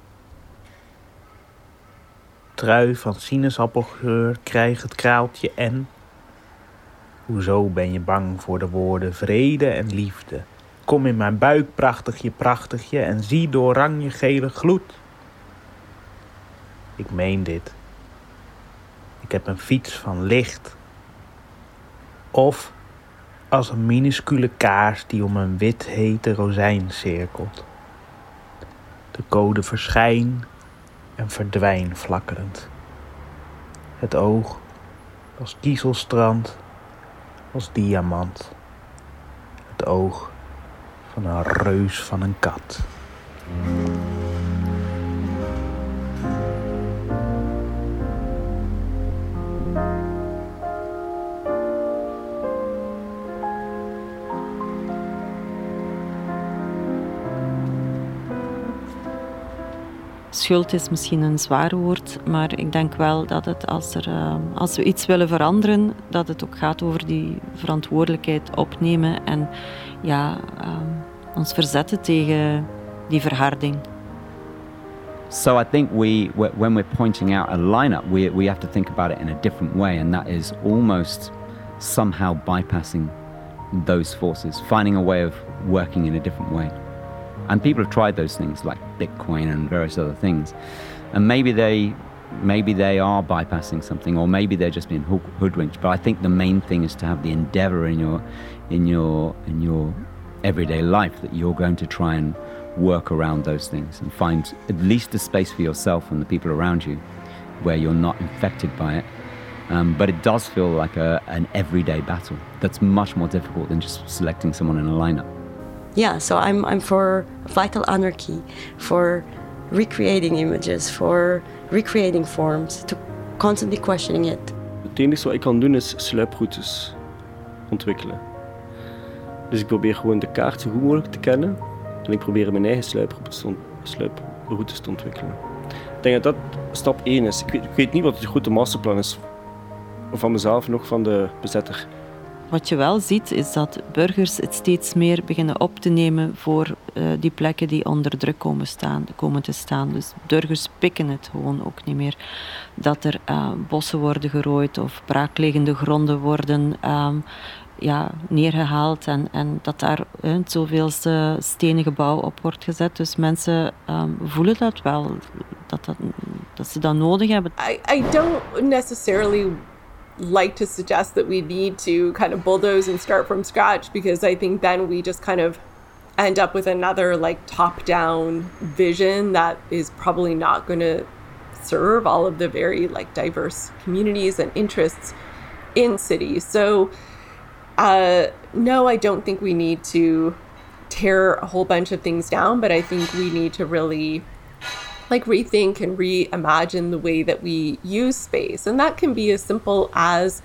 O: Trui van sinaasappelgeur krijgt het kraaltje en... Hoezo ben je bang voor de woorden vrede en liefde? Kom in mijn buik, prachtigje, en zie de oranje-gele gloed. Ik meen dit. Ik heb een fiets van licht. Of als een minuscule kaars die om een wit hete rozijn cirkelt. De code verschijn en verdwijn flakkerend. Het oog als kiezelstrand, als diamant. Het oog van een reus van een kat.
I: Schuld is misschien een zwaar woord, maar ik denk wel dat het als we iets willen veranderen, dat het ook gaat over die verantwoordelijkheid opnemen en ons verzetten tegen die verharding.
E: So I think when we're pointing out a lineup, we have to think about it in a different way, and that is almost somehow bypassing those forces, finding a way of working in a different way. And people have tried those things like Bitcoin and various other things, and maybe they are bypassing something, or maybe they're just being hoodwinked. But I think the main thing is to have the endeavor in your everyday life that you're going to try and work around those things and find at least a space for yourself and the people around you where you're not infected by it. But it does feel like an everyday battle that's much more difficult than just selecting someone in a lineup.
D: Yeah, so I'm for vital anarchy, for recreating images, for recreating forms, to constantly questioning it.
B: Het enige wat ik kan doen is sluiproutes ontwikkelen. Dus ik probeer gewoon de kaart zo goed mogelijk te kennen en ik probeer mijn eigen sluiproutes te ontwikkelen. Ik denk dat dat stap 1 is. Ik weet niet wat het grote masterplan is van mezelf, nog van de bezetter.
I: Wat je wel ziet, is dat burgers het steeds meer beginnen op te nemen voor die plekken die onder druk komen te staan. Dus burgers pikken het gewoon ook niet meer. Dat er bossen worden gerooid of braakliggende gronden worden neergehaald en dat daar het zoveelste stenen gebouw op wordt gezet. Dus mensen voelen dat wel, dat ze dat nodig hebben.
C: I don't necessarily like to suggest that we need to kind of bulldoze and start from scratch, because I think then we just kind of end up with another like top-down vision that is probably not going to serve all of the very like diverse communities and interests in cities. So no, I don't think we need to tear a whole bunch of things down, but I think we need to really like rethink and reimagine the way that we use space. And that can be as simple as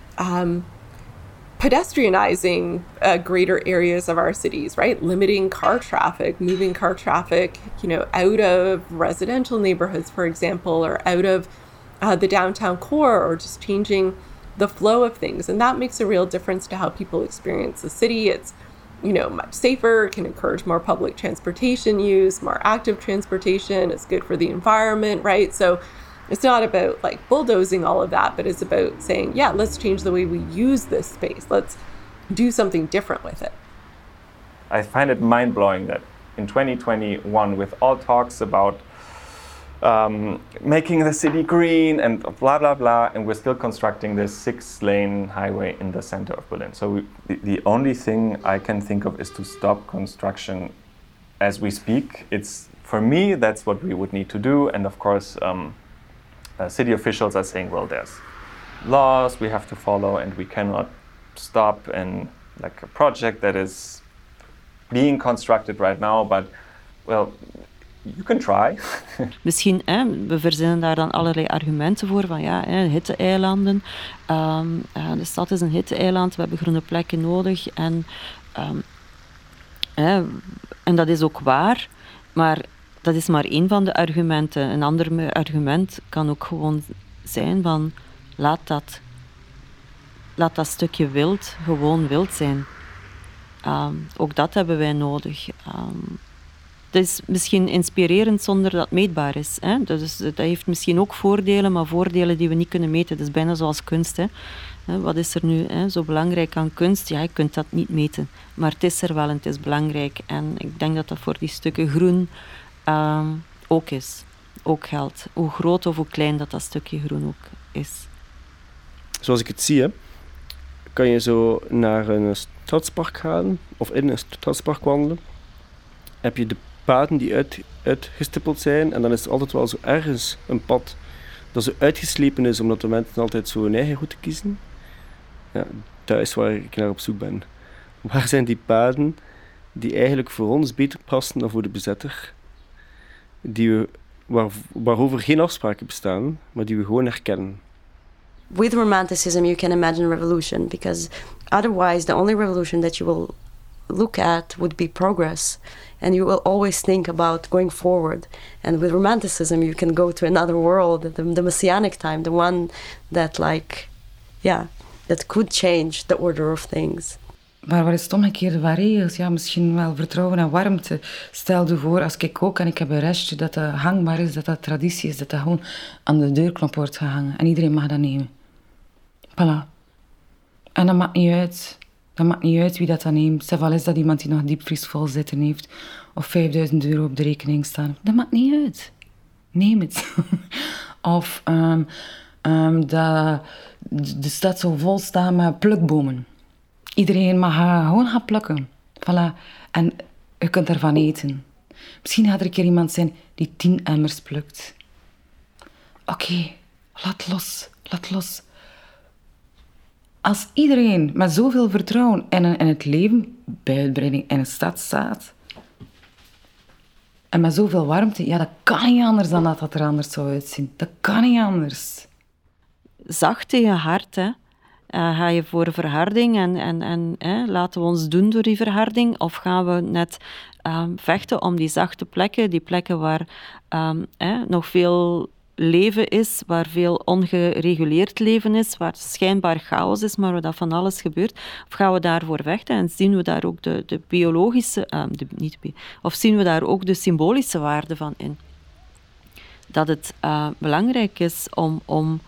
C: pedestrianizing greater areas of our cities, right? Limiting car traffic, moving car traffic, out of residential neighborhoods, for example, or out of the downtown core, or just changing the flow of things. And that makes a real difference to how people experience the city. It's much safer, can encourage more public transportation use, more active transportation. It's good for the environment, right? So it's not about like bulldozing all of that, but it's about saying, yeah, let's change the way we use this space. Let's do something different with it.
F: I find it mind-blowing that in 2021, with all talks about making the city green and blah, blah, blah, and we're still constructing this 6-lane highway in the center of Berlin. So the only thing I can think of is to stop construction as we speak. For me, that's what we would need to do. And of course, city officials are saying, well, there's laws we have to follow and we cannot stop and like a project that is being constructed right now, but well, you can try.
I: Misschien, we verzinnen daar dan allerlei argumenten voor, van hitte-eilanden. De stad is een hitte-eiland, we hebben groene plekken nodig. En dat is ook waar, maar dat is maar één van de argumenten. Een ander argument kan ook gewoon zijn van, laat dat stukje wild gewoon wild zijn. Ook dat hebben wij nodig. Dat is misschien inspirerend zonder dat het meetbaar is. Hè? Dat heeft misschien ook voordelen, maar voordelen die we niet kunnen meten. Dat is bijna zoals kunst. Hè? Wat is er nu zo belangrijk aan kunst? Ja, je kunt dat niet meten. Maar het is er wel en het is belangrijk. En ik denk dat dat voor die stukken groen ook is. Ook geldt. Hoe groot of hoe klein dat stukje groen ook is.
B: zoals ik het zie, hè, kan je zo naar een stadspark gaan of in een stadspark wandelen. Heb je de paden die uitgestippeld zijn en dan is er altijd wel zo ergens een pad dat zo uitgeslepen is omdat de mensen altijd zo hun eigen route kiezen. Ja, dat is waar ik naar op zoek ben. Waar zijn die paden die eigenlijk voor ons beter passen dan voor de bezetter? Waarover geen afspraken bestaan, maar die we gewoon herkennen.
D: With romanticism, you can imagine revolution, because otherwise the only revolution that you will look at would be progress, and you will always think about going forward. And with romanticism, you can go to another world, the messianic time, the one that that could change the order of things.
G: Maar wat is het omgekeerde van regels? Ja, misschien wel vertrouwen en warmte. Stel je voor, als ik kook en ik heb een restje dat hangbaar is, dat traditie is, dat gewoon aan de deurknop wordt gehangen. En iedereen mag dat nemen. Voilà. En dat maakt niet uit. Dat maakt niet uit wie dat dan neemt. Zelfs al is dat iemand die nog diepvriesvol zitten heeft of €5.000 op de rekening staan. Dat maakt niet uit. Neem het. Of de stad zal vol staan met plukbomen. Iedereen mag gewoon gaan plukken. Voilà. En je kunt ervan eten. Misschien gaat er een keer iemand zijn die 10 emmers plukt. Oké, laat los. Als iedereen met zoveel vertrouwen in het leven, bij uitbreiding in een stad staat, en met zoveel warmte, ja, dat kan niet anders dan dat er anders zou uitzien. Dat kan niet anders.
I: Zacht tegen hard, hè. Ga je voor verharding en laten we ons doen door die verharding? Of gaan we net vechten om die zachte plekken, die plekken waar nog veel leven is, waar veel ongereguleerd leven is, waar schijnbaar chaos is, maar waar dat van alles gebeurt? Of gaan we daarvoor vechten en zien we daar ook de biologische, of zien we daar ook de symbolische waarde van in? Dat het belangrijk is om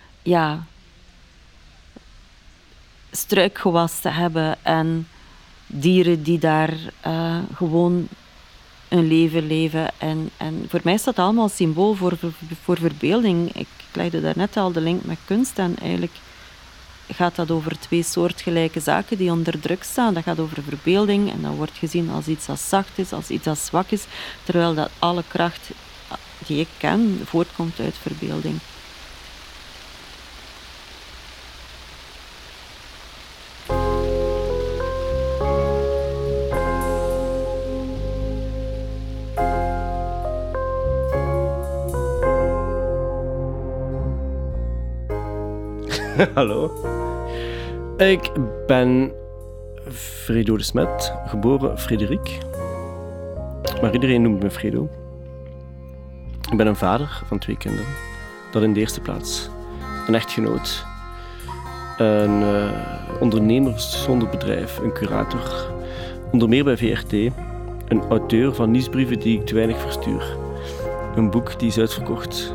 I: struikgewas te hebben en dieren die daar gewoon een leven leven. En voor mij is dat allemaal symbool voor verbeelding. Ik legde daarnet al de link met kunst en eigenlijk gaat dat over 2 soortgelijke zaken die onder druk staan. Dat gaat over verbeelding en dat wordt gezien als iets dat zacht is, als iets dat zwak is, terwijl dat alle kracht die ik ken voortkomt uit verbeelding.
B: Hallo. Ik ben Fredo de Smet, geboren Frederik. Maar iedereen noemt me Fredo. Ik ben een vader van 2 kinderen. Dat in de eerste plaats. Een echtgenoot. Een ondernemer zonder bedrijf. Een curator. Onder meer bij VRT. Een auteur van nieuwsbrieven die ik te weinig verstuur. Een boek die is uitverkocht.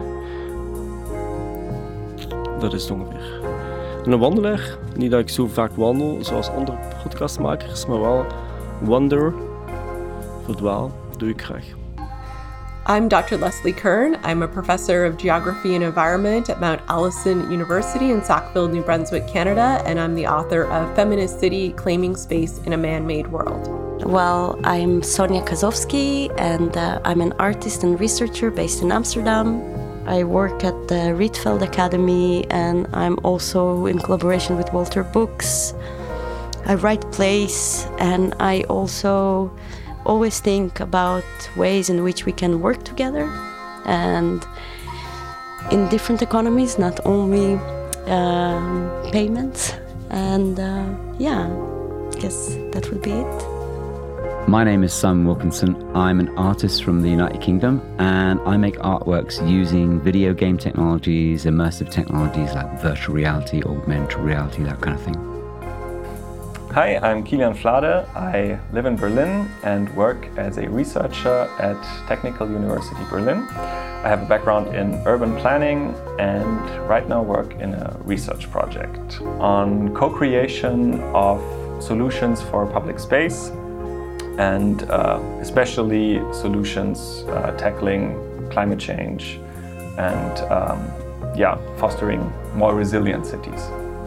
B: Dat is het ongeveer. En een wandelaar, niet dat ik zo vaak wandel zoals andere podcastmakers, maar wel wander, verdwaal, doe ik graag.
C: I'm Dr. Leslie Kern. I'm a professor of geography and environment at Mount Allison University in Sackville, New Brunswick, Canada, and I'm the author of Feminist City, Claiming Space in a Man-Made World.
D: Well, I'm Sonia Kazowski, and I'm an artist and researcher based in Amsterdam. I work at the Rietveld Academy, and I'm also in collaboration with Walter Books. I write plays, and I also always think about ways in which we can work together, and in different economies, not only payments. And I guess that would be it.
E: My name is Simon Wilkinson. I'm an artist from the United Kingdom, and I make artworks using video game technologies, immersive technologies like virtual reality, augmented reality, that kind of thing.
F: Hi, I'm Kilian Flade. I live in Berlin and work as a researcher at Technical University Berlin. I have a background in urban planning and right now work in a research project on co-creation of solutions for public space and especially solutions tackling climate change and fostering more resilient cities.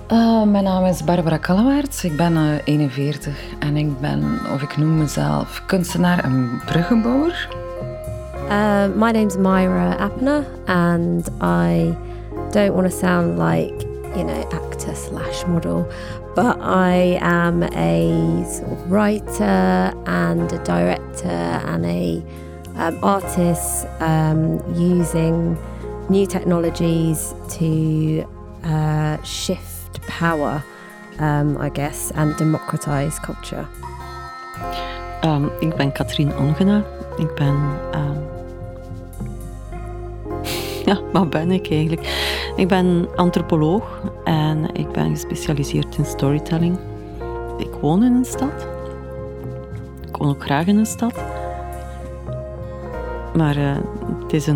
G: Mijn naam is Barbara Kallewaerts. Ik ben 41 en ik noem mezelf kunstenaar en bruggenbouwer.
H: My name's Myra Appner and I don't want to sound like, actor/model, but I am a sort of writer and a director and a artist using new technologies to shift power, I guess, and democratize culture.
I: Ik ben Katrien Ongena. Ik ben... wat ben ik eigenlijk? Ik ben antropoloog en ik ben gespecialiseerd in storytelling. Ik woon in een stad. Ik woon ook graag in een stad. Maar het is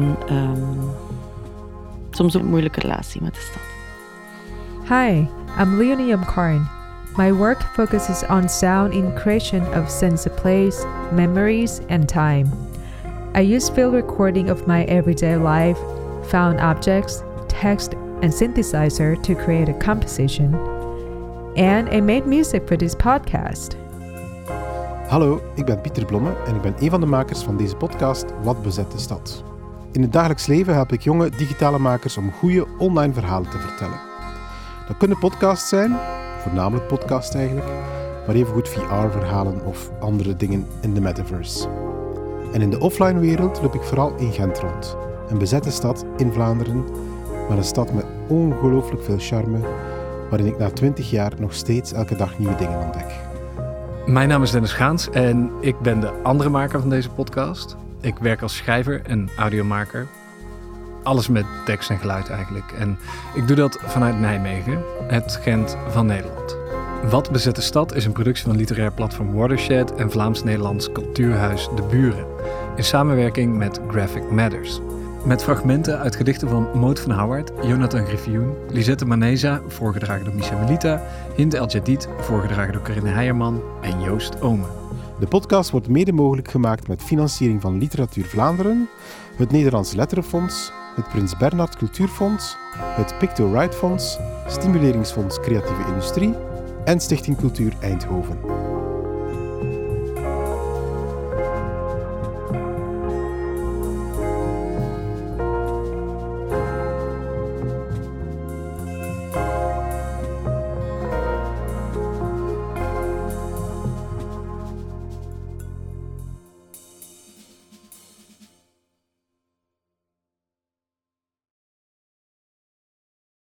I: soms een moeilijke relatie met de stad.
P: Hi, I'm Leonie Karn. My work focuses on sound in creation of sense of place, memories, and time. I use field recording of my everyday life, found objects, text, and synthesizer to create a composition. And I made music for this podcast.
Q: Hallo, ik ben Pieter Blomme en ik ben een van de makers van deze podcast Wat bezet de stad. In het dagelijks leven help ik jonge digitale makers om goede online verhalen te vertellen. Dat kunnen podcasts zijn, voornamelijk podcasts eigenlijk, maar evengoed VR-verhalen of andere dingen in de metaverse. En in de offline wereld loop ik vooral in Gent rond. Een bezette stad in Vlaanderen, maar een stad met ongelooflijk veel charme, waarin ik na 20 jaar nog steeds elke dag nieuwe dingen ontdek.
R: Mijn naam is Dennis Gaans en ik ben de andere maker van deze podcast. Ik werk als schrijver en audiomaker. Alles met tekst en geluid eigenlijk. En ik doe dat vanuit Nijmegen, het Gent van Nederland. Wat bezet de stad is een productie van literair platform Watershed en Vlaams-Nederlands cultuurhuis De Buren. In samenwerking met Graphic Matters. Met fragmenten uit gedichten van Maud van Houwaert, Jonathan Griffioen, Lisette Maneza, voorgedragen door Misha Melita, Hind El Jadid, voorgedragen door Corinne Heijerman en Joost Omen.
Q: De podcast wordt mede mogelijk gemaakt met financiering van Literatuur Vlaanderen, het Nederlands Letterenfonds, het Prins Bernhard Cultuurfonds, het Picto Right Fonds, Stimuleringsfonds Creatieve Industrie en Stichting Cultuur Eindhoven.